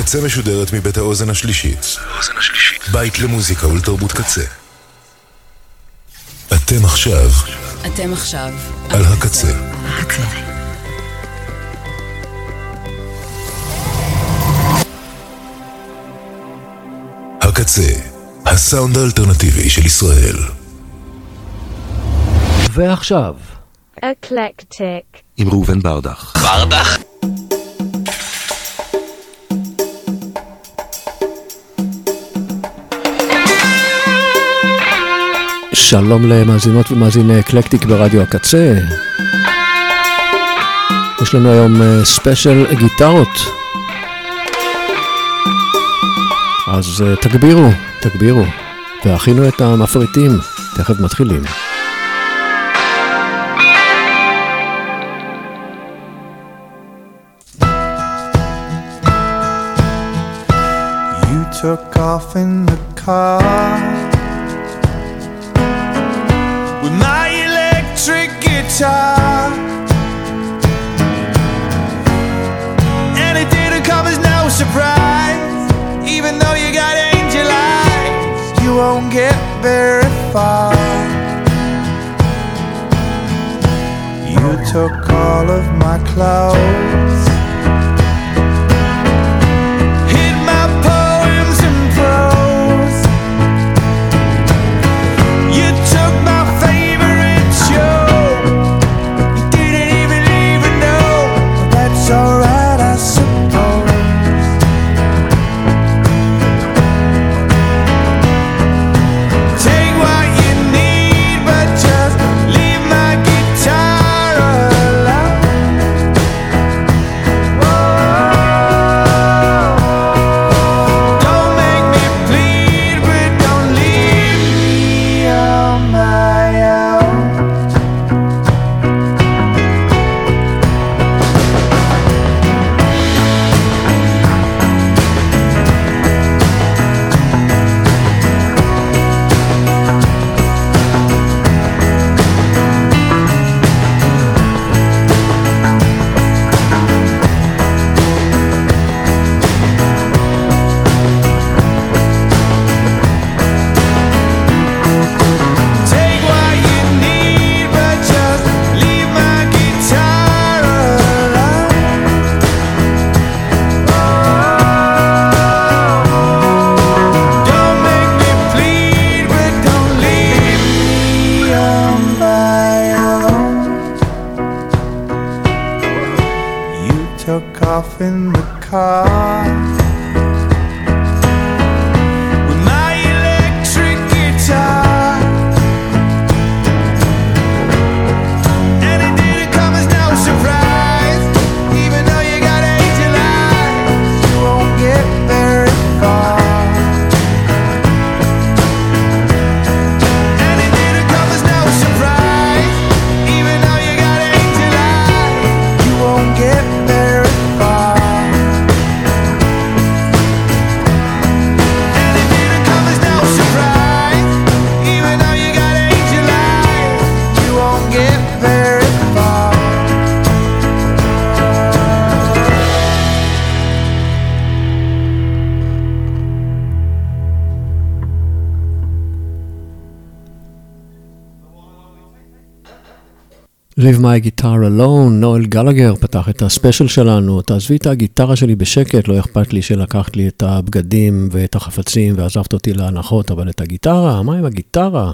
הקצה משודרת מבית האוזן השלישית. בית למוזיקה ולתרבות קצה. אתם עכשיו על הקצה. הקצה, הסאונד האלטרנטיבי של ישראל. ועכשיו אקלקטיק עם ראובן ברדך. שלום למאזינות ומאזיני אקלקטיק ברדיו הקצה. יש לנו היום ספיישל גיטרות, אז תגבירו והכינו את המפריטים, תכף מתחילים. You took off in the car with my electric guitar, and it didn't come as no surprise. Even though you got angel eyes, you won't get very far. You took all of my clothes, hid my poems and prose. You took my favorite show. You didn't even know, but that's alright, I suppose. Take what you need, but just leave my guitar alone. Don't make me bleed, but don't leave me on my own. Take what you need, but just leave my guitar alone. Don't make me bleed, but don't leave me on my own. You took off in the car with my electric guitar, and it didn't come as no surprise. Even though you got angel eyes, you won't get very far. And it didn't come as no surprise. Even though you got angel eyes, you won't get very far. And it didn't come as no surprise. Even though you got angel eyes, you won't get very far. Leave my guitar alone, נואל גלגר פתח את הספיישל שלנו. תעזבי את הגיטרה שלי בשקט, לא אכפת לי שלקחת לי את הבגדים ואת החפצים ועזבת אותי להנחות, אבל את הגיטרה, מה עם הגיטרה?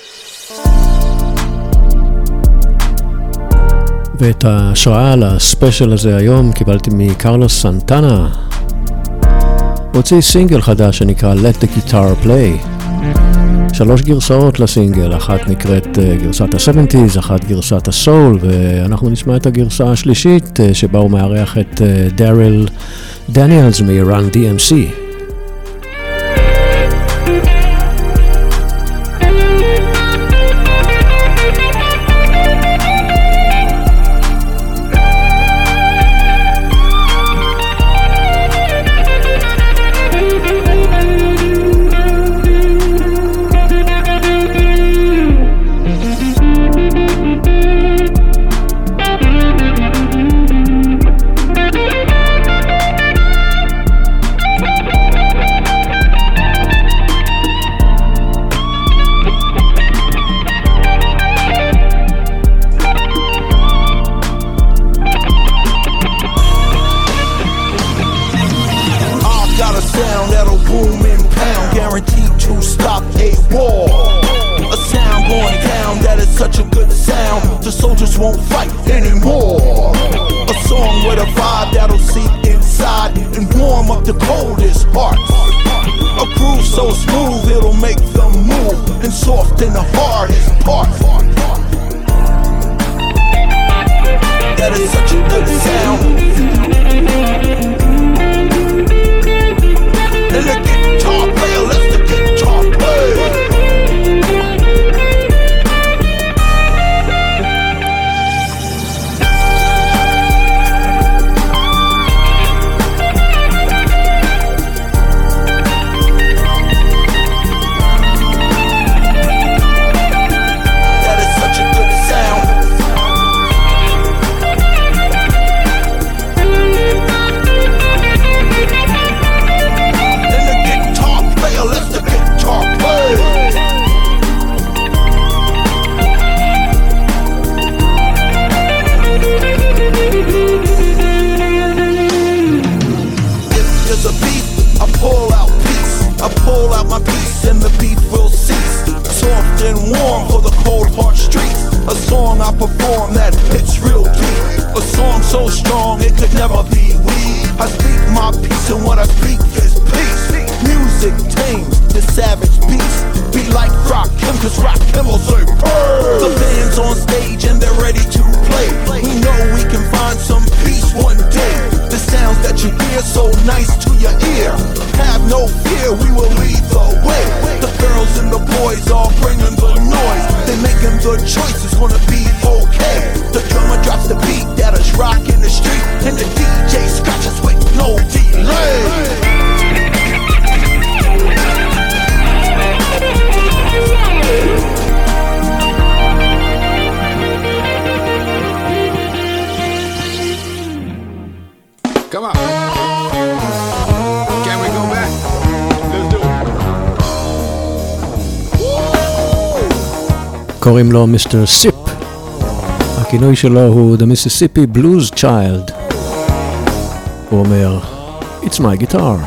ואת ההשראה לספיישל הזה היום קיבלתי מקרלוס סנטנה. הוציא סינגל חדש שנקרא Let the Guitar Play. 3 גרסאות לסינגל, אחת נקראת גרסת ה-70s, אחת גרסת הסול, ואנחנו נשמע את הגרסה השלישית שבה הוא מארח את דריל דניאלס מ-Run DMC. the soldiers won't fight anymore. A song with a vibe that'll seep inside and warm up the coldest hearts. A groove so smooth it'll make them move and soften the hardest part. That is such a good sound. And the guitar player lets the guitar play. Perform that hits real deep. A song so strong it could never be weak. I speak my peace and what I speak is peace. Music tames the savage beast. Be like Rakim, cause Rakim will say bird. The band's on stage and they're ready to play. We know we can find some peace one day. The sounds that you hear so nice to your ear. Have no fear, we will lead the way. The girls and the boys all bringing the noise. They making the choice, it's gonna be okay. The drummer drops the beat that is rocking the street, and the DJ scratches with no delay. Come on. Can we go back? Let's do it. קוראים לו מיסטר סיפ. הכינוי שלו הוא The Mississippi Blues Child. הוא אומר, It's my guitar.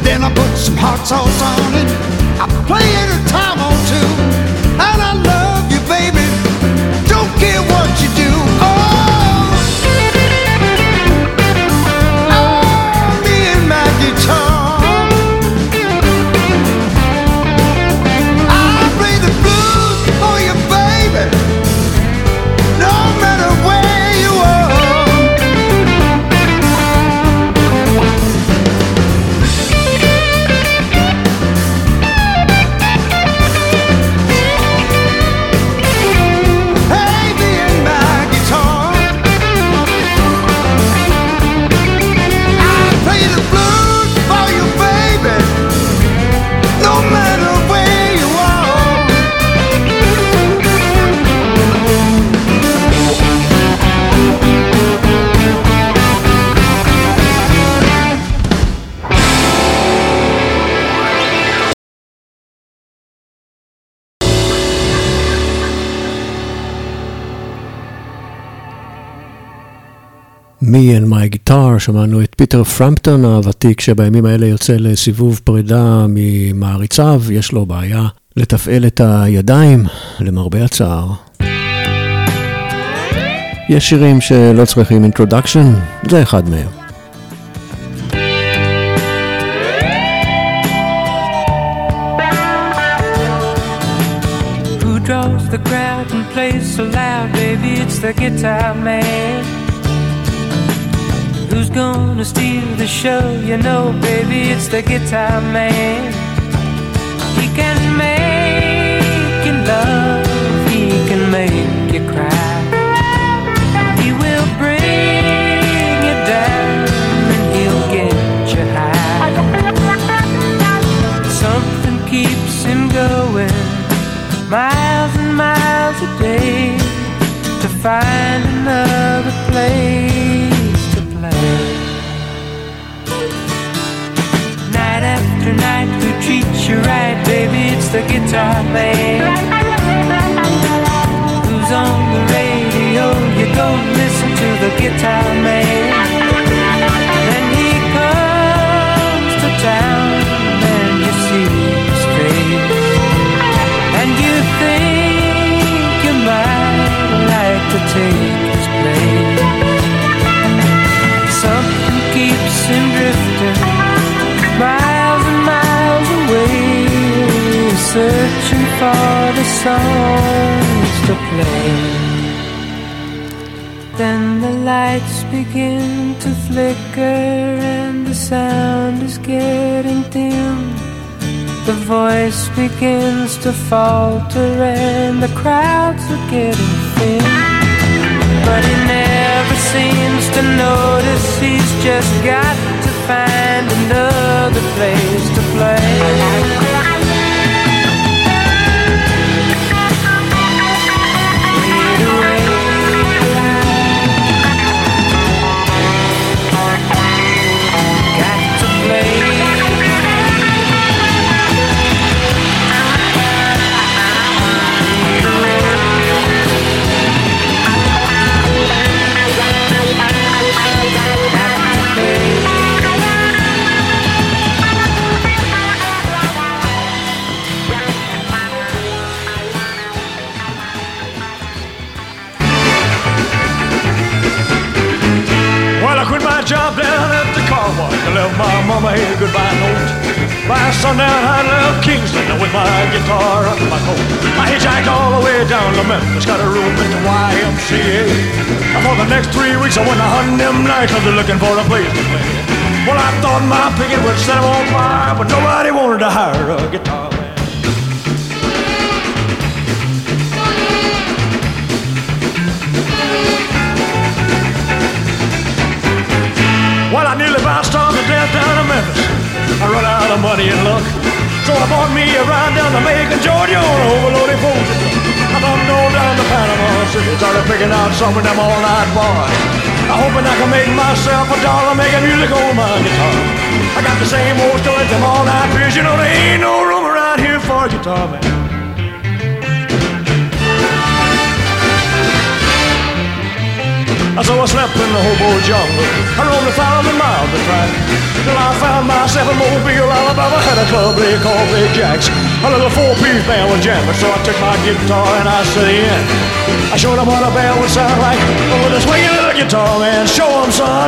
then I put some hot sauce on it. I play it a time or two, and I love you, baby. Don't care what you do. Me and my guitar, I play the blues for you, baby. No matter where you are. Hey, me and my guitar, I play the blues for you, baby. No matter where you are. Me and my guitar, שמענו את פיטר פרמפטון הוותיק שבימים האלה יוצא לסיבוב פרידה ממעריציו, יש לו בעיה לתפעל את הידיים, למרבה הצער. יש שירים שלא צריכים introduction, זה אחד מהם. Who draws the crowd and plays so loud, baby, it's the guitar man. Who's gonna steal the show? You know, baby, it's the guitar man. He can make you love, he can make you cry. He will bring you down and he'll get you high. Something keeps him going miles and miles a day to find another place to play. Night after night, who treats you right, baby, it's the guitar man. Who's on the radio, you go listen to the guitar man. Then he comes to town and you see his face, and you think you might like to take his place. Something keeps him drifting miles and miles away, searching for the songs to play. Then the lights begin to flicker and the sound is getting dim. The voice begins to falter and the crowds are getting thin. But he never seems to notice he's just got to find another place to play. Fade away. Got to play. Job down at the car wash. I left my mama a goodbye note. By sundown I left Kingston with my guitar under my coat. I hitchhiked all the way down to Memphis, got a room at the YMCA. And for the next 3 weeks I went to hunting them nightclubs looking for a place to play. Well, I thought my picket would set them on fire, but nobody wanted to hire a guitar man. Well, I nearly bounced on to death down in Memphis. I run out of money and luck, so I bought me a ride down to Macon, Georgia on an overloaded Folger truck. I thumbed on down to Panama City, started picking out some of them all-night bars. I'm hoping I can make myself $1 making music on my guitar. I got the same old stories, them all-night beers, you know there ain't no room around here for a guitar man. So I slept in the hobo jungle. I roamed 1,000 miles to track till I found myself in Mobile, Alabama. Had a club they called Big Jack's. A little four-piece band was jamming, so I took my guitar and I set in. I showed them what a band would sound like with a swinging little guitar, man. Show them, son.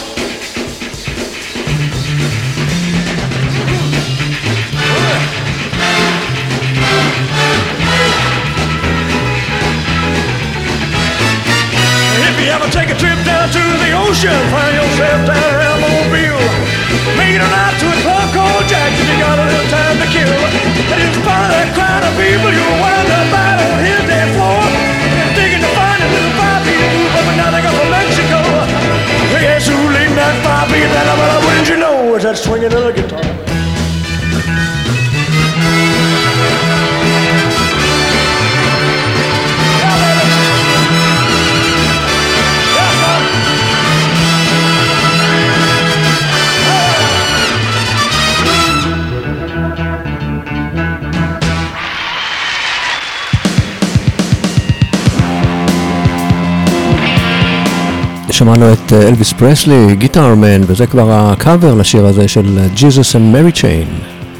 Take a trip down to the ocean, find yourself down around Mobile. Make it a night to a club called Jack's if you got a little time to kill. And in spite of that crowd of people, you'll wind up out on his dance floor. And digging to find a little 5-beat groove up and down there from Mexico. Yes, who leading that 5-beat? That well, wouldn't you know it's that swinging little guitar. שמענו את אלוויס פרסלי, גיטרמן, וזה כבר הקאבר לשיר הזה של Jesus and Mary Chain.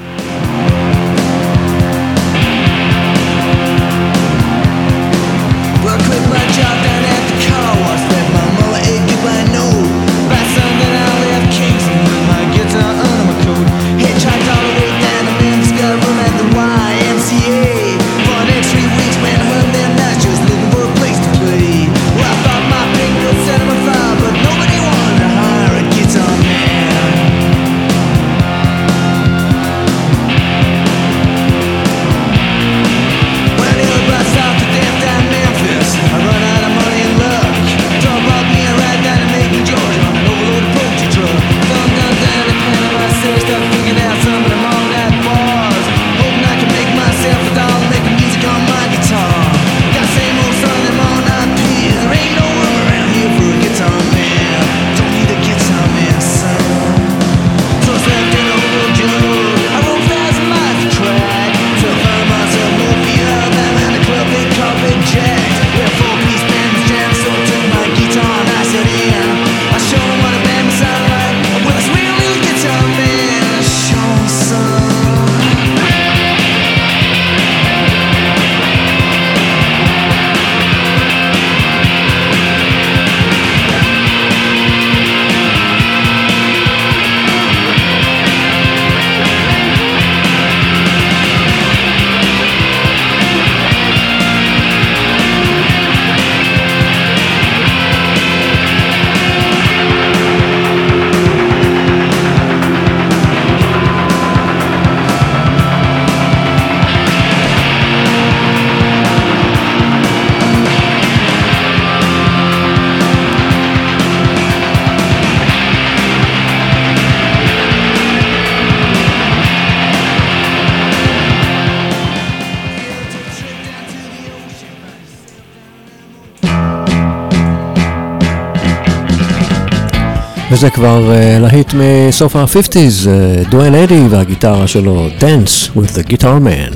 וזה כבר להיט מסוף ה-50s, דואן אדי והגיטרה שלו, Dance with the Guitar Man.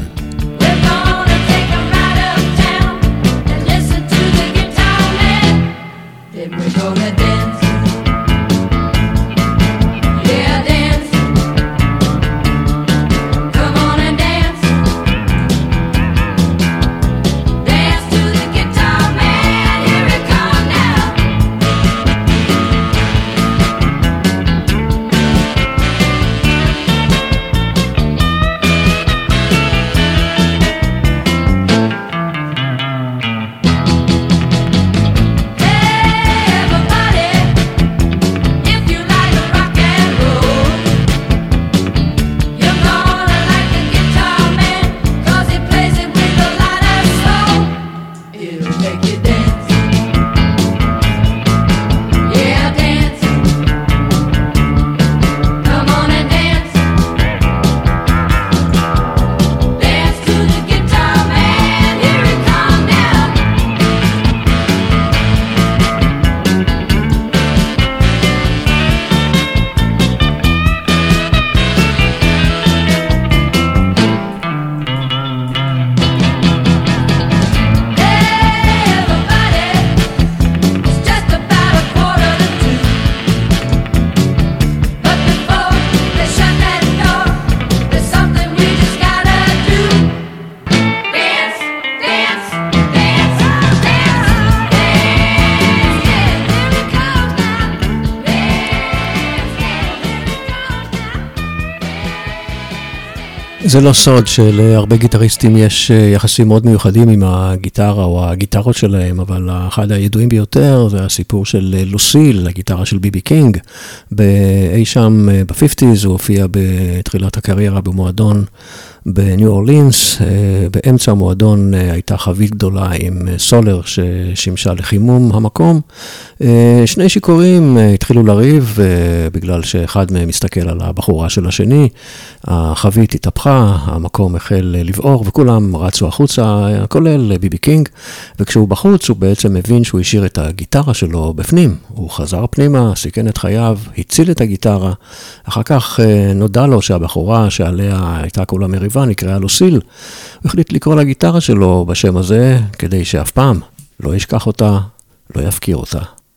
זה לא סוד שלהרבה גיטריסטים יש יחסים מאוד מיוחדים עם הגיטרה או הגיטרות שלהם, אבל אחד הידועים ביותר זה הסיפור של לוסיל, הגיטרה של ביבי קינג. באי שם ב-50s הוא הופיע בתחילת הקריירה במועדון בניו אורלינס. באמצע המועדון הייתה חבית גדולה עם סולר ששימשה לחימום המקום. שני שיכורים התחילו לריב בגלל שאחד מהם מסתכל על הבחורה של השני. החבית התהפכה, המקום החל לבעור וכולם רצו החוצה, כולל ביבי קינג. וכשהוא בחוץ הוא בעצם מבין שהוא השאיר את הגיטרה שלו בפנים. הוא חזר פנימה, סיכן את חייו, הציל את הגיטרה. אחר כך נודע לו שהבחורה שעליה הייתה כולה מריבה נקראה לוסיל. הוא החליט לקרוא לגיטרה שלו בשם הזה כדי שאף פעם לא ישכח אותה, לא יפקיר אותה.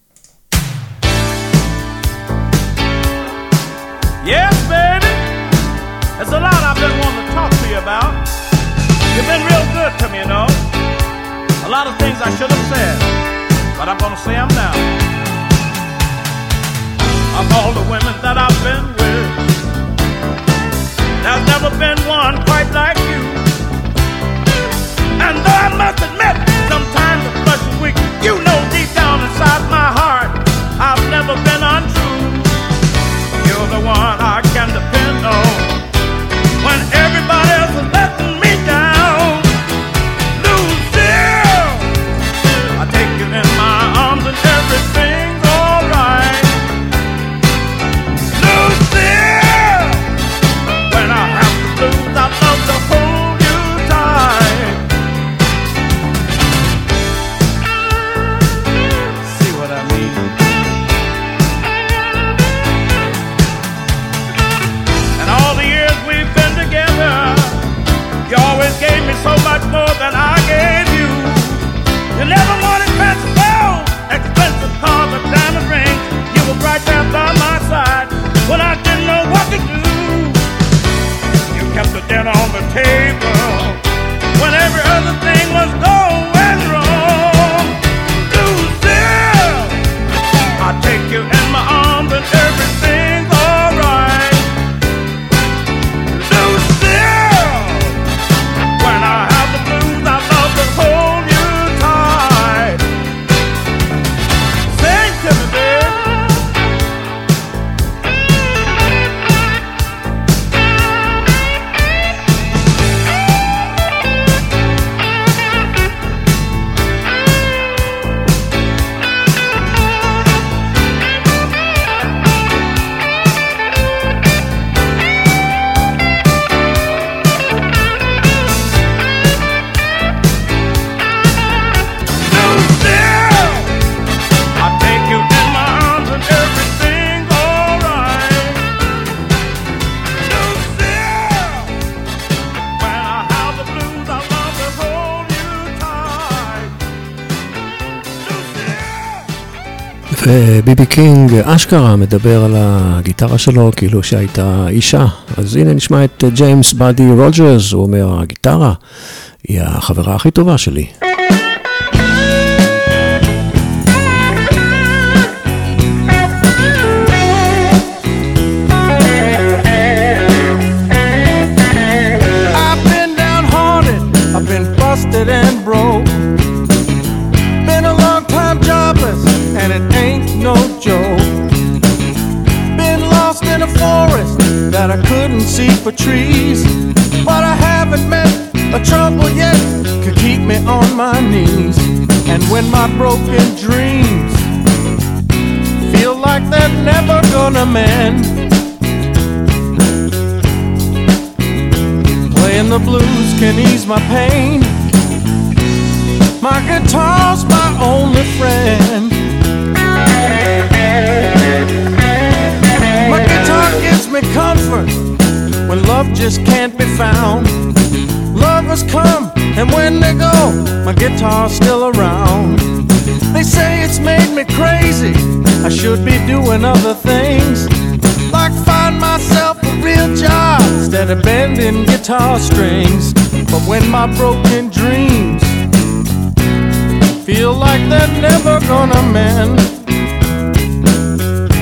Yes, baby. There's a lot I've been wanting to talk to you about. You've been real good to me, you know. A lot of things I should have said, but I'm going to say them now. Of all the women that I've been with, there's never been one quite like you. And though I must admit, sometimes the flesh is weak, you know deep down inside my heart, I've never been untrue. You're the one I can depend on when everybody else is letting me down. Lucille, I take you in my arms and everything's alright. Lucille, when I have the blues, I love to hold you tight. See what I mean? And all the years we've been together, you always gave me so much more than I gave you. You never wanted fancy clothes, expensive cars, or diamond rings. You were right there by my side when I didn't know what to do. You kept the dinner on the table when every other thing was going wrong. Lucille, I take you in my arms and everything's alright. Lucille, when I have the blues, I love to hold you tight. Sing to me, babe. ביבי קינג אשכרה מדבר על הגיטרה שלו כאילו שהייתה אישה. אז הנה נשמע את ג'יימס באדי רוג'רס, הוא אומר, הגיטרה היא החברה הכי טובה שלי. I've been downhearted, I've been busted and broke. Been a long time jobless, and it ain't no joke. Been lost in a forest that I couldn't see for trees. But I haven't met a trouble yet could keep me on my knees. And when my broken dreams feel like they're never gonna mend, playing the blues can ease my pain. My guitar's my only friend. My guitar gives me comfort when love just can't be found. Lovers come and when they go, my guitar's still around. They say it's made me crazy, I should be doing other things, like find myself a real job instead of bending guitar strings. But when my broken dreams feel like they're never gonna mend,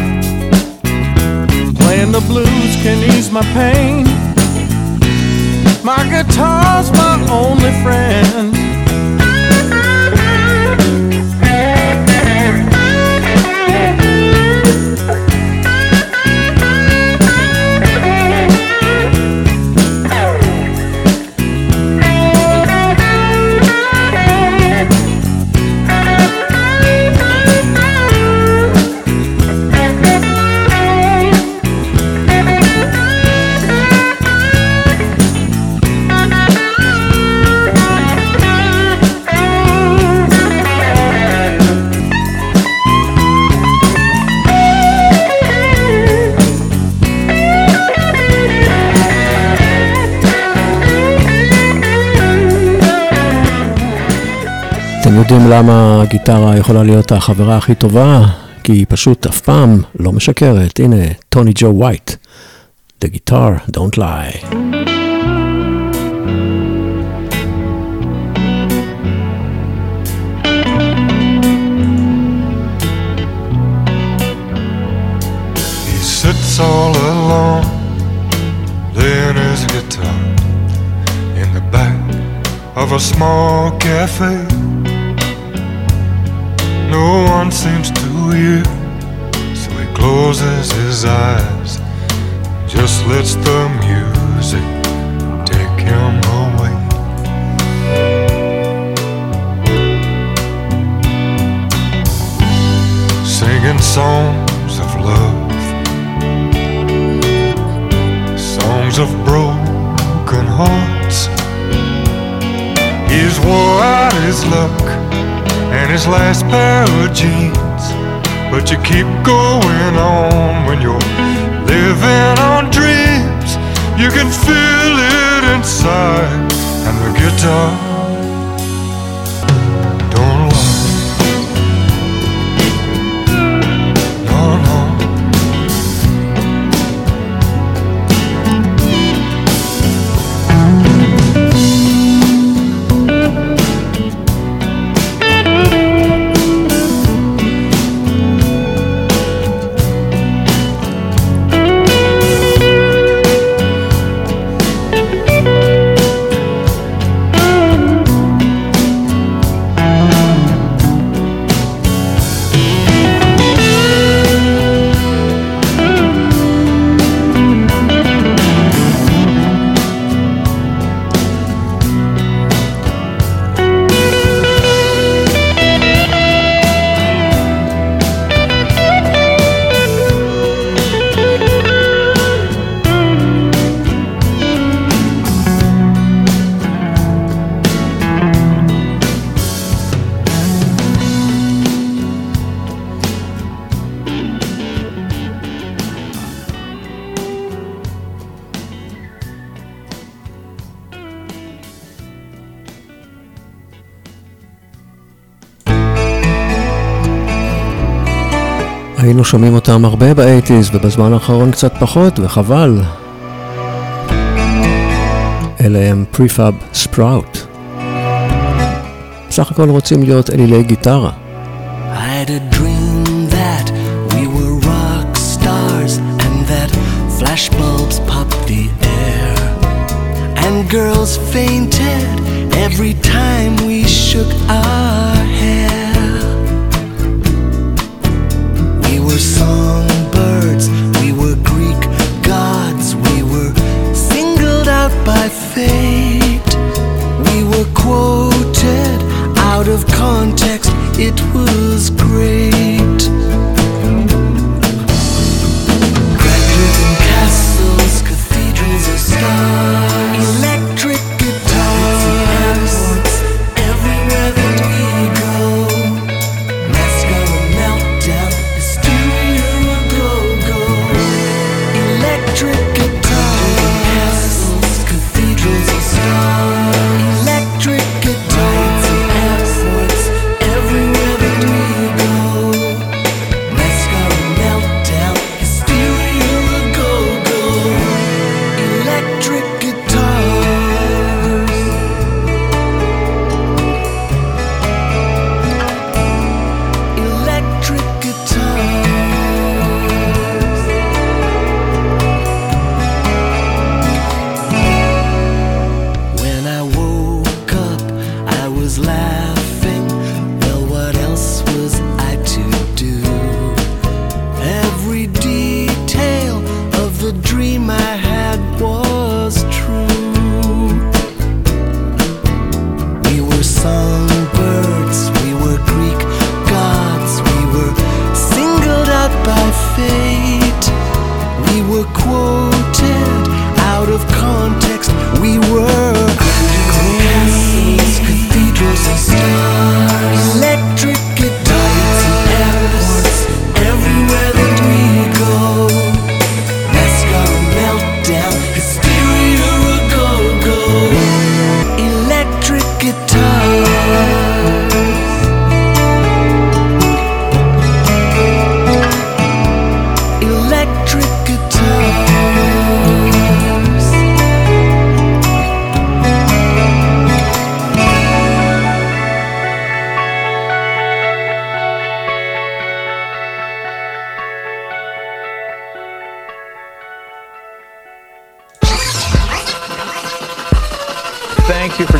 playing the blues can ease my pain. My guitar's my only friend. אתם יודעים למה הגיטרה יכולה להיות החברה הכי טובה? כי היא פשוט אף פעם לא משקרת. הנה, טוני ג'ו ווייט. The guitar don't lie. He sits all alone, laying his guitar in the back of a small cafe. No one seems to hear, so he closes his eyes, just lets the music take him away. Singing songs of love, songs of broken hearts. He's wore out his luck and his last pair of jeans, but you keep going on when you're living on dreams. You can feel it inside, and the guitar don't lie. No, no. היינו שומעים אותם הרבה ב-80s ובזמן האחרון קצת פחות, וחבל. אלה הם פריפאב ספראוט. בסך הכל רוצים להיות אלילי גיטרה. I had a dream that we were rock stars and that flashbulbs popped the air and girls fainted every time we shook our hair. We were songbirds, we were Greek gods, we were singled out by fate. We were quoted out of context, it was great. Crack-driven castles, cathedrals of stars, electric guitars, everywhere that we go. Mascara meltdown, hysteria go-go. Electric guitars, castles, cathedrals of stars, electric guitars, airports, everywhere that we go. Mascara meltdown, hysteria go-go. Electric guitars.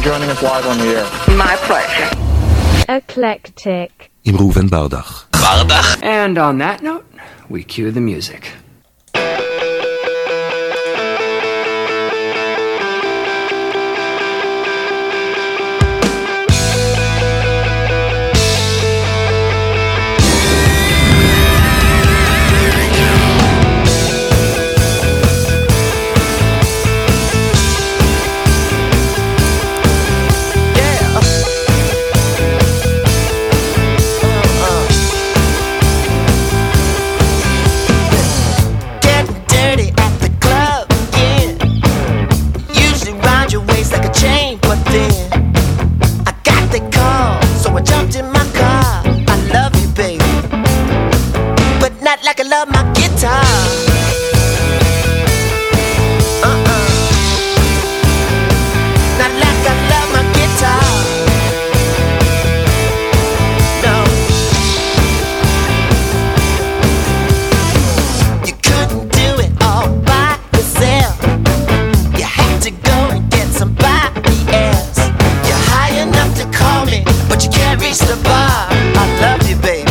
joining us live on the air. My pleasure. Eclectic. עם ראובן ברדך. And on that note, we cue the music. Like I love my guitar. Not like I love my guitar. No. You couldn't do it all by yourself. You had to go and get somebody else. You're high enough to call me, but you can't reach the bar. I love you, baby.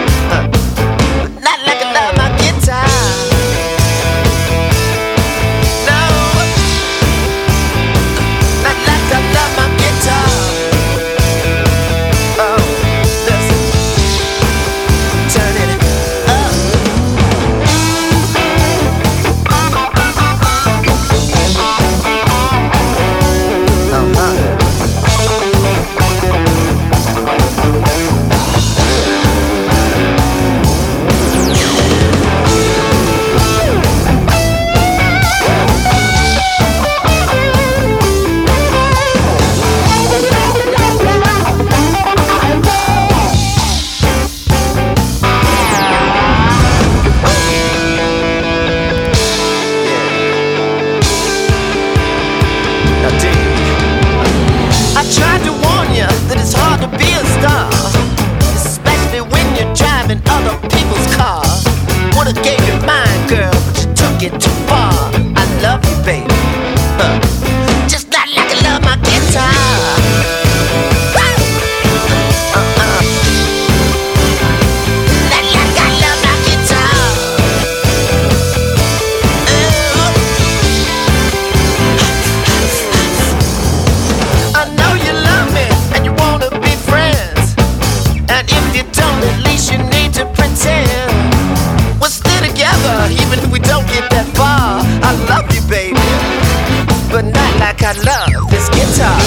I love this guitar.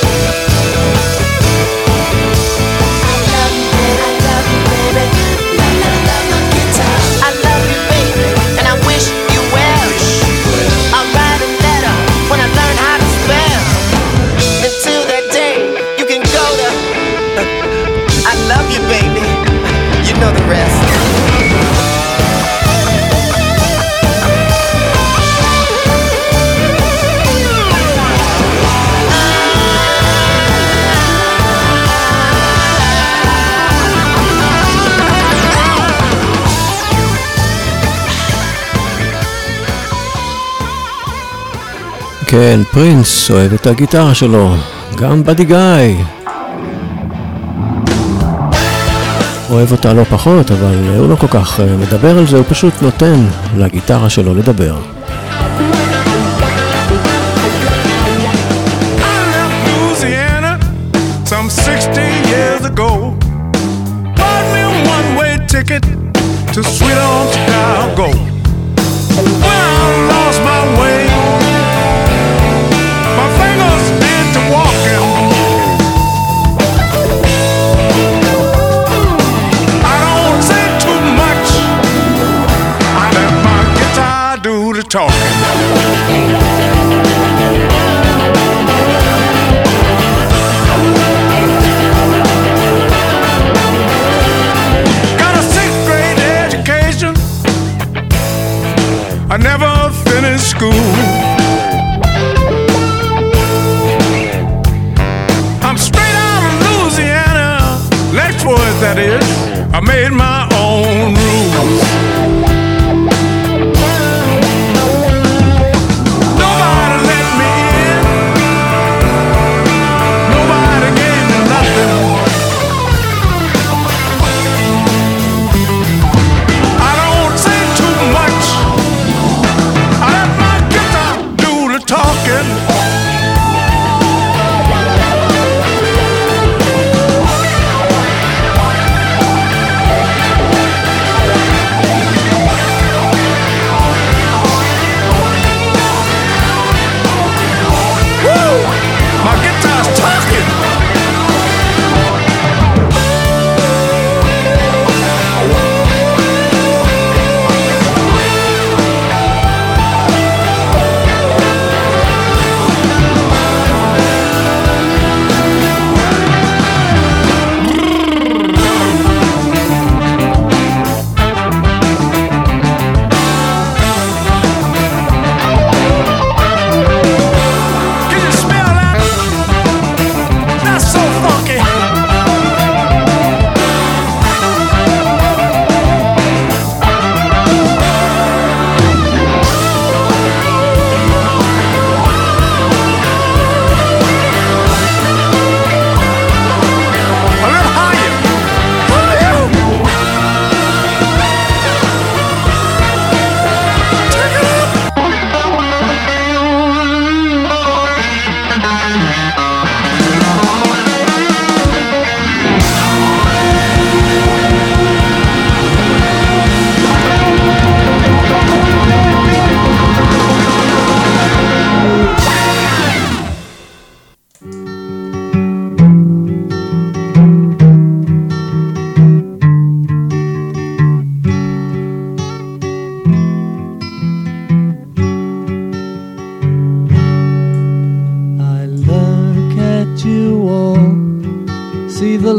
כן, פרינס אוהב את הגיטרה שלו, גם בדי גאי אוהב אותה לא פחות, אבל הוא לא כל כך מדבר על זה, הוא פשוט נותן לגיטרה שלו לדבר. Some 60 years ago, bought me a one-way ticket to sweet old Chicago. When I lost my way, my fingers did to walking. I don't say too much, I let my guitar do the talking. I never finished school. I'm straight out of Louisiana, Lexwood that is. I made my own rules. Nobody let me in.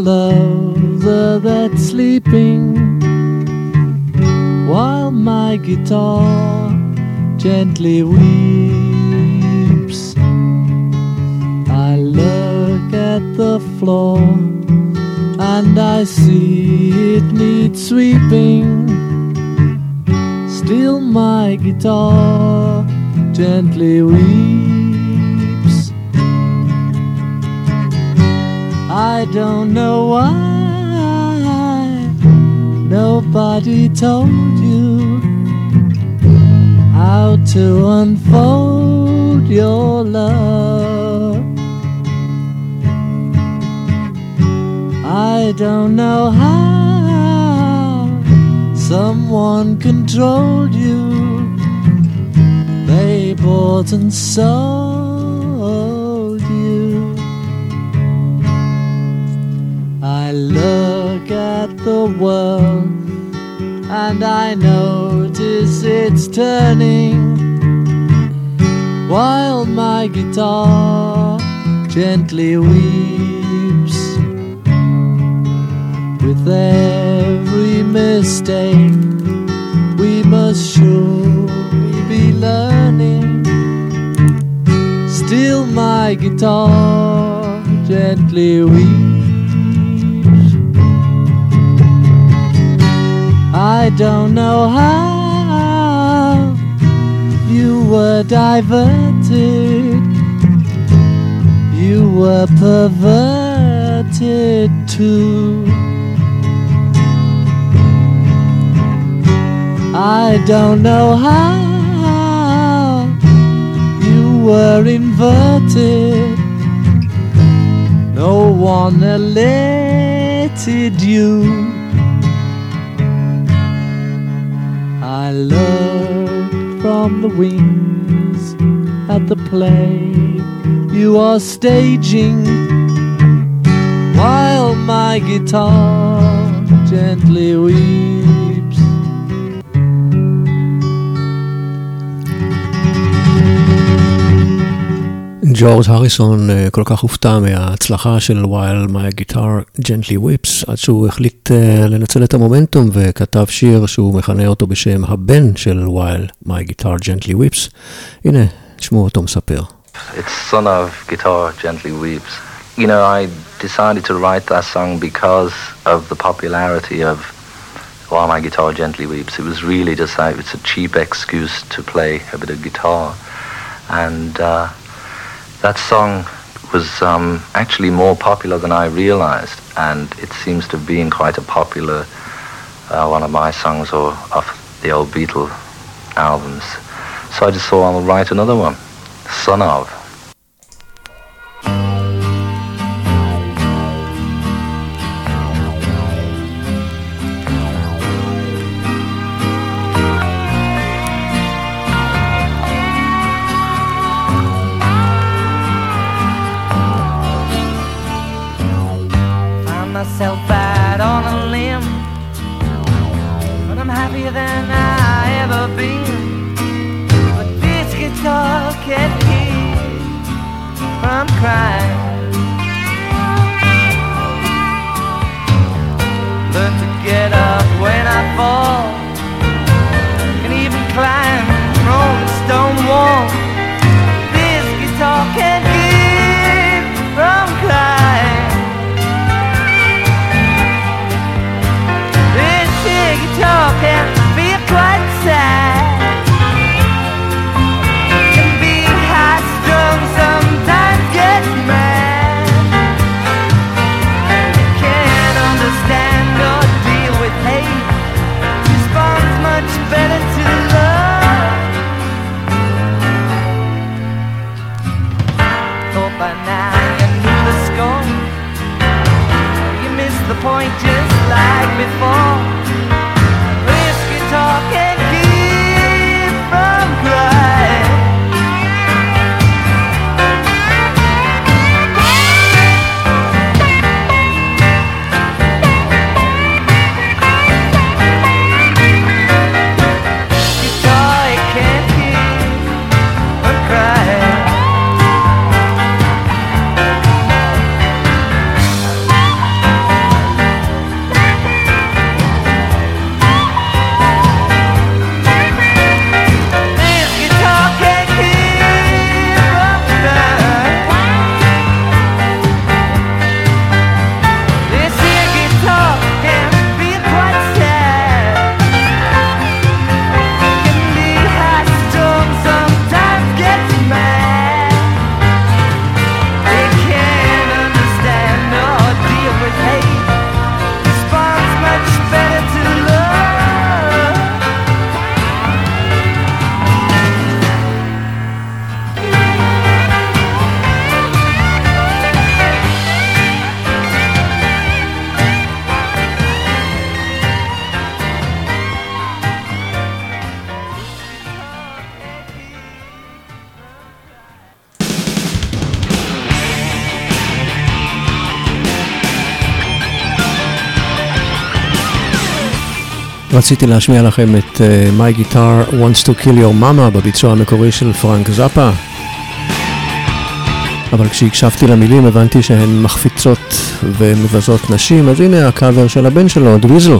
lover that's sleeping while my guitar gently weeps. I look at the floor and I see it needs sweeping. Still my guitar gently weeps. I don't know why nobody told you how to unfold your love. I don't know how someone controlled you. They bought and sold you. I look at the world and I notice it's turning while my guitar gently weeps. With every mistake we must surely be learning. Still my guitar gently weeps. I don't know how you were diverted, you were perverted too. I don't know how you were inverted, no one elated you. I look from the wings at the play you are staging, while my guitar gently weeps. ג'ורג' הריסון כל כך הופתע מההצלחה של While My Guitar Gently Weeps, עד שהוא החליט לנצל את המומנטום וכתב שיר שהוא מכנה אותו בשם הבן של While My Guitar Gently Weeps. הנה, תשמעו אותו מספר. It's son of Guitar Gently Weeps. You know, I decided to write that song because of the popularity of While My Guitar Gently Weeps. It was really just like, it's a cheap excuse to play a bit of guitar. And that song was actually more popular than I realized, and it seems to have been quite a popular one of my songs or of the old Beatle albums. So I just thought I'll write another one, Son of. Myself out on a limb, but I'm happier than I ever been. But this guitar can't keep from crying. Learn to get up when I fall, can even climb from the stone wall. This guitar can't keep from crying. Guitar can be quite sad, can be high strung, sometimes get mad, can't understand or deal with hate, responds much better to love. Thought by now you knew the score, you missed the point just like before. Can't keep from crying. Guitar, it can't keep from crying. רציתי להשמיע לכם את My Guitar Wants to Kill Your Mama בביצוע המקורי של פרנק זאפה, אבל כשהקשבתי למילים הבנתי שהן מחפיצות ומבזות נשים, אז הנה הקאבר של הבן שלו, דוויזל.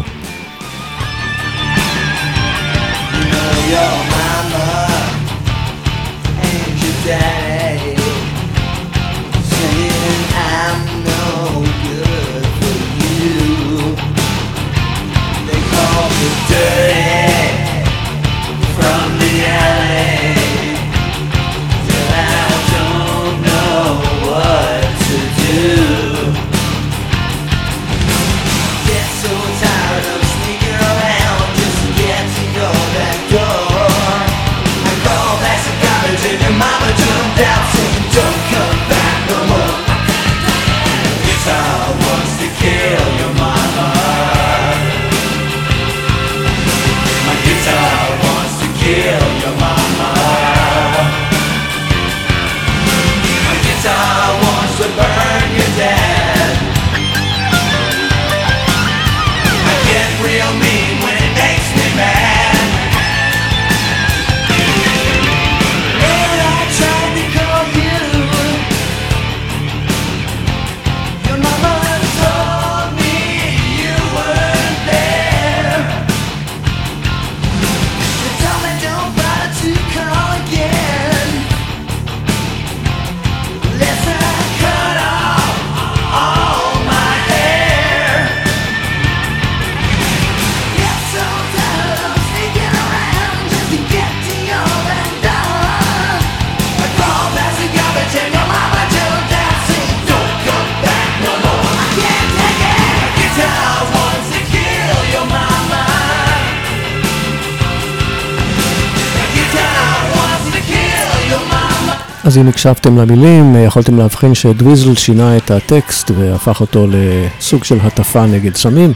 אז אם הקשבתם למילים, יכולתם להבחין שדוויזל שינה את הטקסט והפך אותו לסוג של הטפה נגד סמים.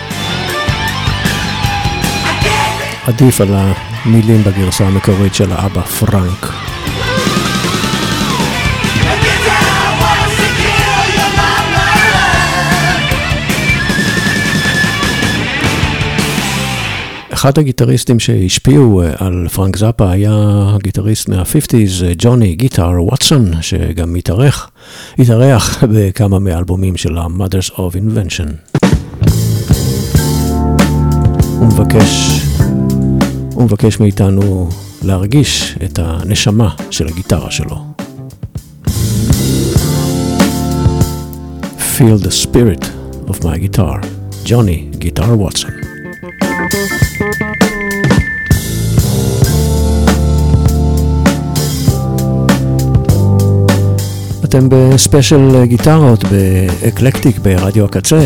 עדיף על המילים בגרסה המקורית של האבא פרנק. אחד הגיטריסטים שהשפיעו על פרנק זאפה היה הגיטריסט מה-50s, ג'וני גיטר ווטסון, שגם התארח בכמה מאלבומים של ה-Mothers of Invention. הוא מבקש מאיתנו להרגיש את הנשמה של הגיטרה שלו. Feel the spirit of my guitar, ג'וני גיטר ווטסון. אתם בספיישל גיטרות באקלקטיק ברדיו הקצה.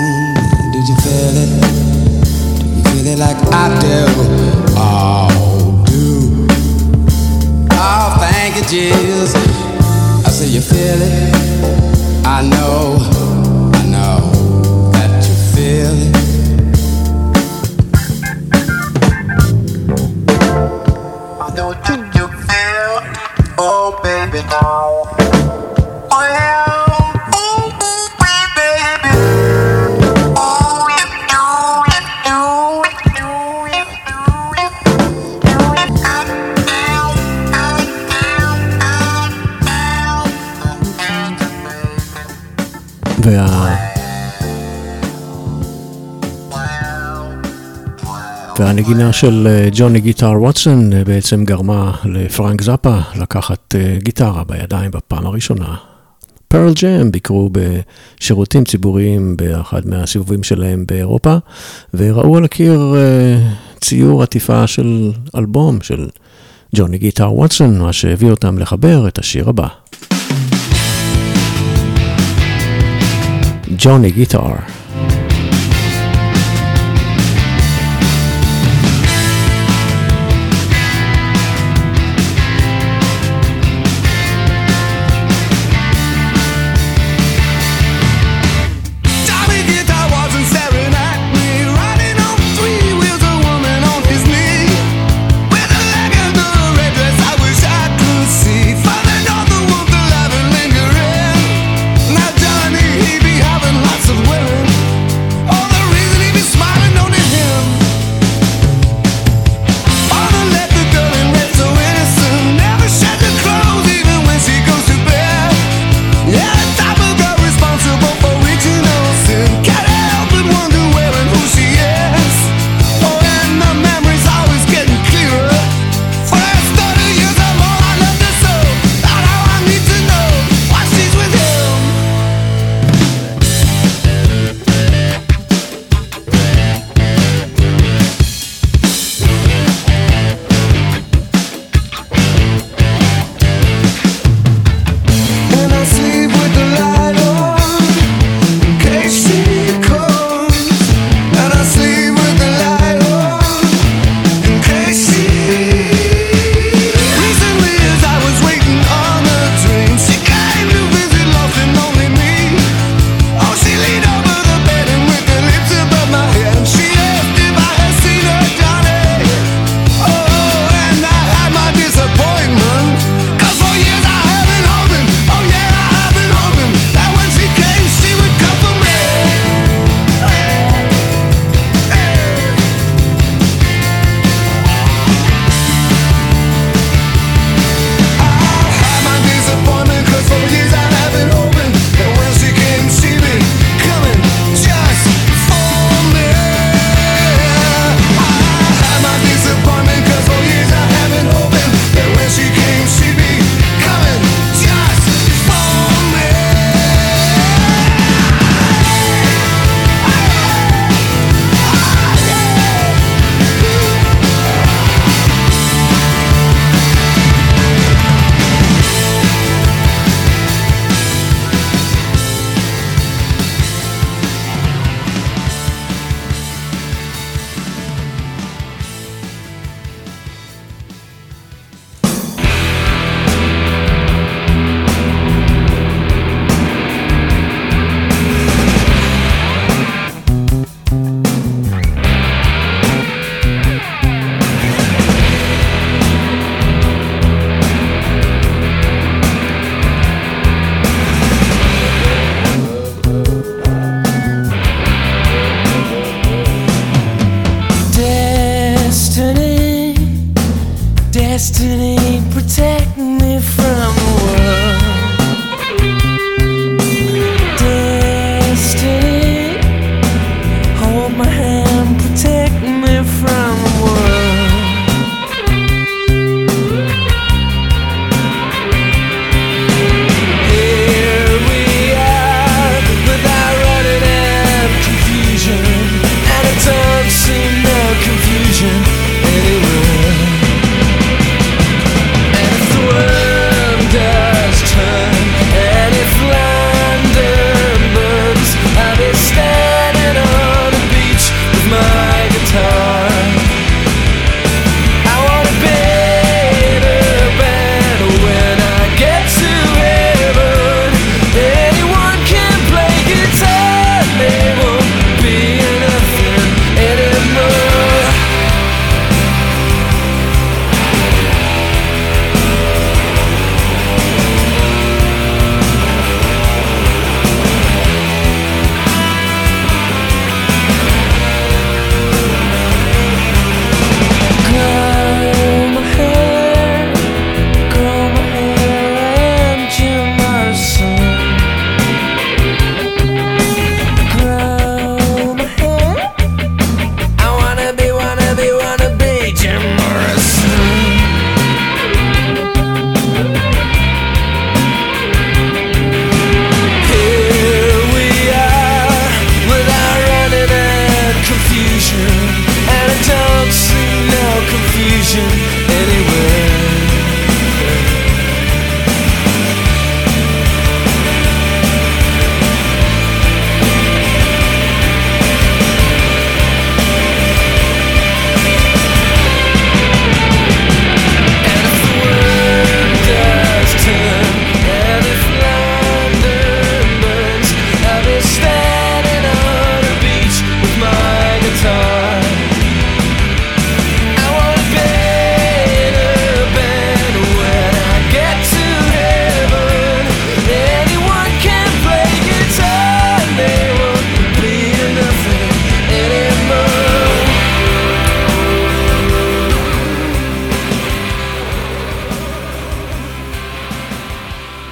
Like I do, oh והנגינה של ג'וני גיטר ווטסון בעצם גרמה לפרנק זאפה לקחת גיטרה בידיים בפעם הראשונה. פרל ג'ם ביקרו בשירותים ציבוריים באחד מהסיבובים שלהם באירופה, וראו על הקיר ציור עטיפה של אלבום של ג'וני גיטר ווטסון, מה שהביא אותם לחבר את השיר הבא. ג'וני גיטר. Lots of women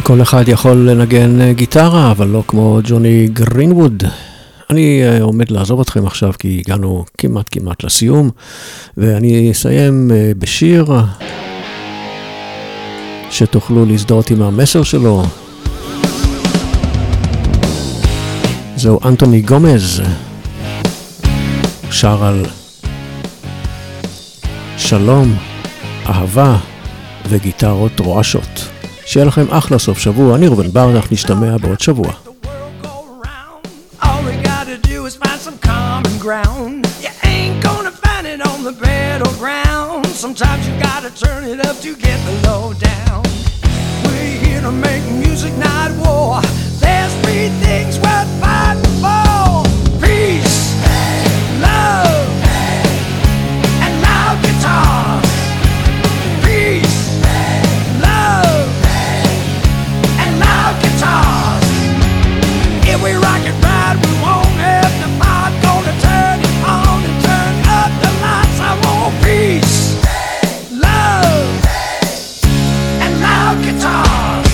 כל אחד יכול לנגן גיטרה, אבל לא כמו ג'וני גרינווד. אני עומד לעזוב אתכם עכשיו, כי הגענו כמעט לסיום, ואני אסיים בשיר שתוכלו להזדהות עם המסר שלו. זהו אנטוני גומז, שר על שלום, אהבה וגיטרות רועשות. שיהיה לכם אחלה סוף שבוע. אני רובן ברנך, נשתמע בעוד שבוע. All we gotta do is find some common ground. You ain't gonna find it on the battleground. Sometimes you gotta turn it up to get the low down. We're here to make music, not war. There's three things worth fighting for: peace, love, and loud guitars. Peace, love, and loud guitars. If we rock it right, we won't have to fight. Gonna turn it on and turn up the lights. I want peace, love, and loud guitars.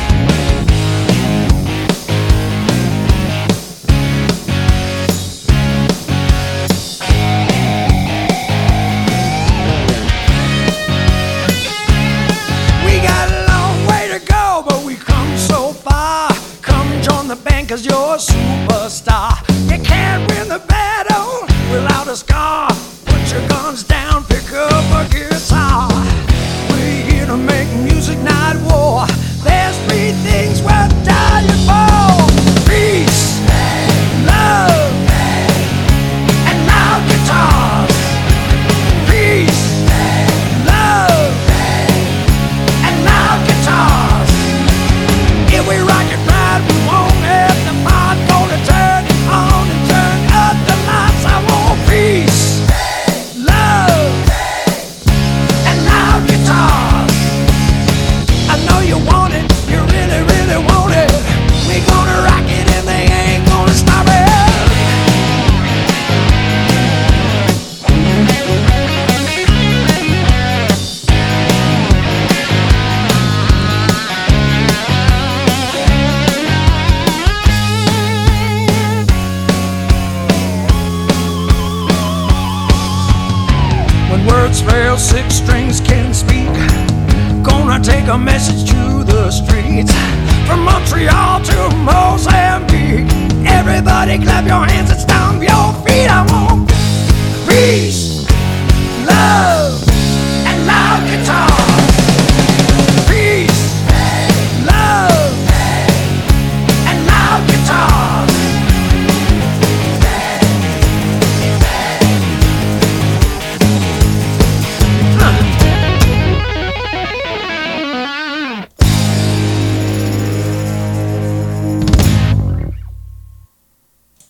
We got a long way to go, but we come so far. Come join the band, 'cause you're a superstar. You can't win the battle without a scar. Put your guns down, pick up a guitar. We're here to make music, not war. There's three things worth dying for: peace, love, and loud guitars. Peace, love, and loud guitars. If we rock it right, we won't have to fight. Gonna turn it on and turn up the lights. I want peace, love, and loud guitars. I know you want it, you really, really want it. We gonna rock it and they ain't gonna stop it. When words fail, six strings can speak. Gonna take a message to the streets. From Montreal to Mozambique, everybody clap your hands and stop.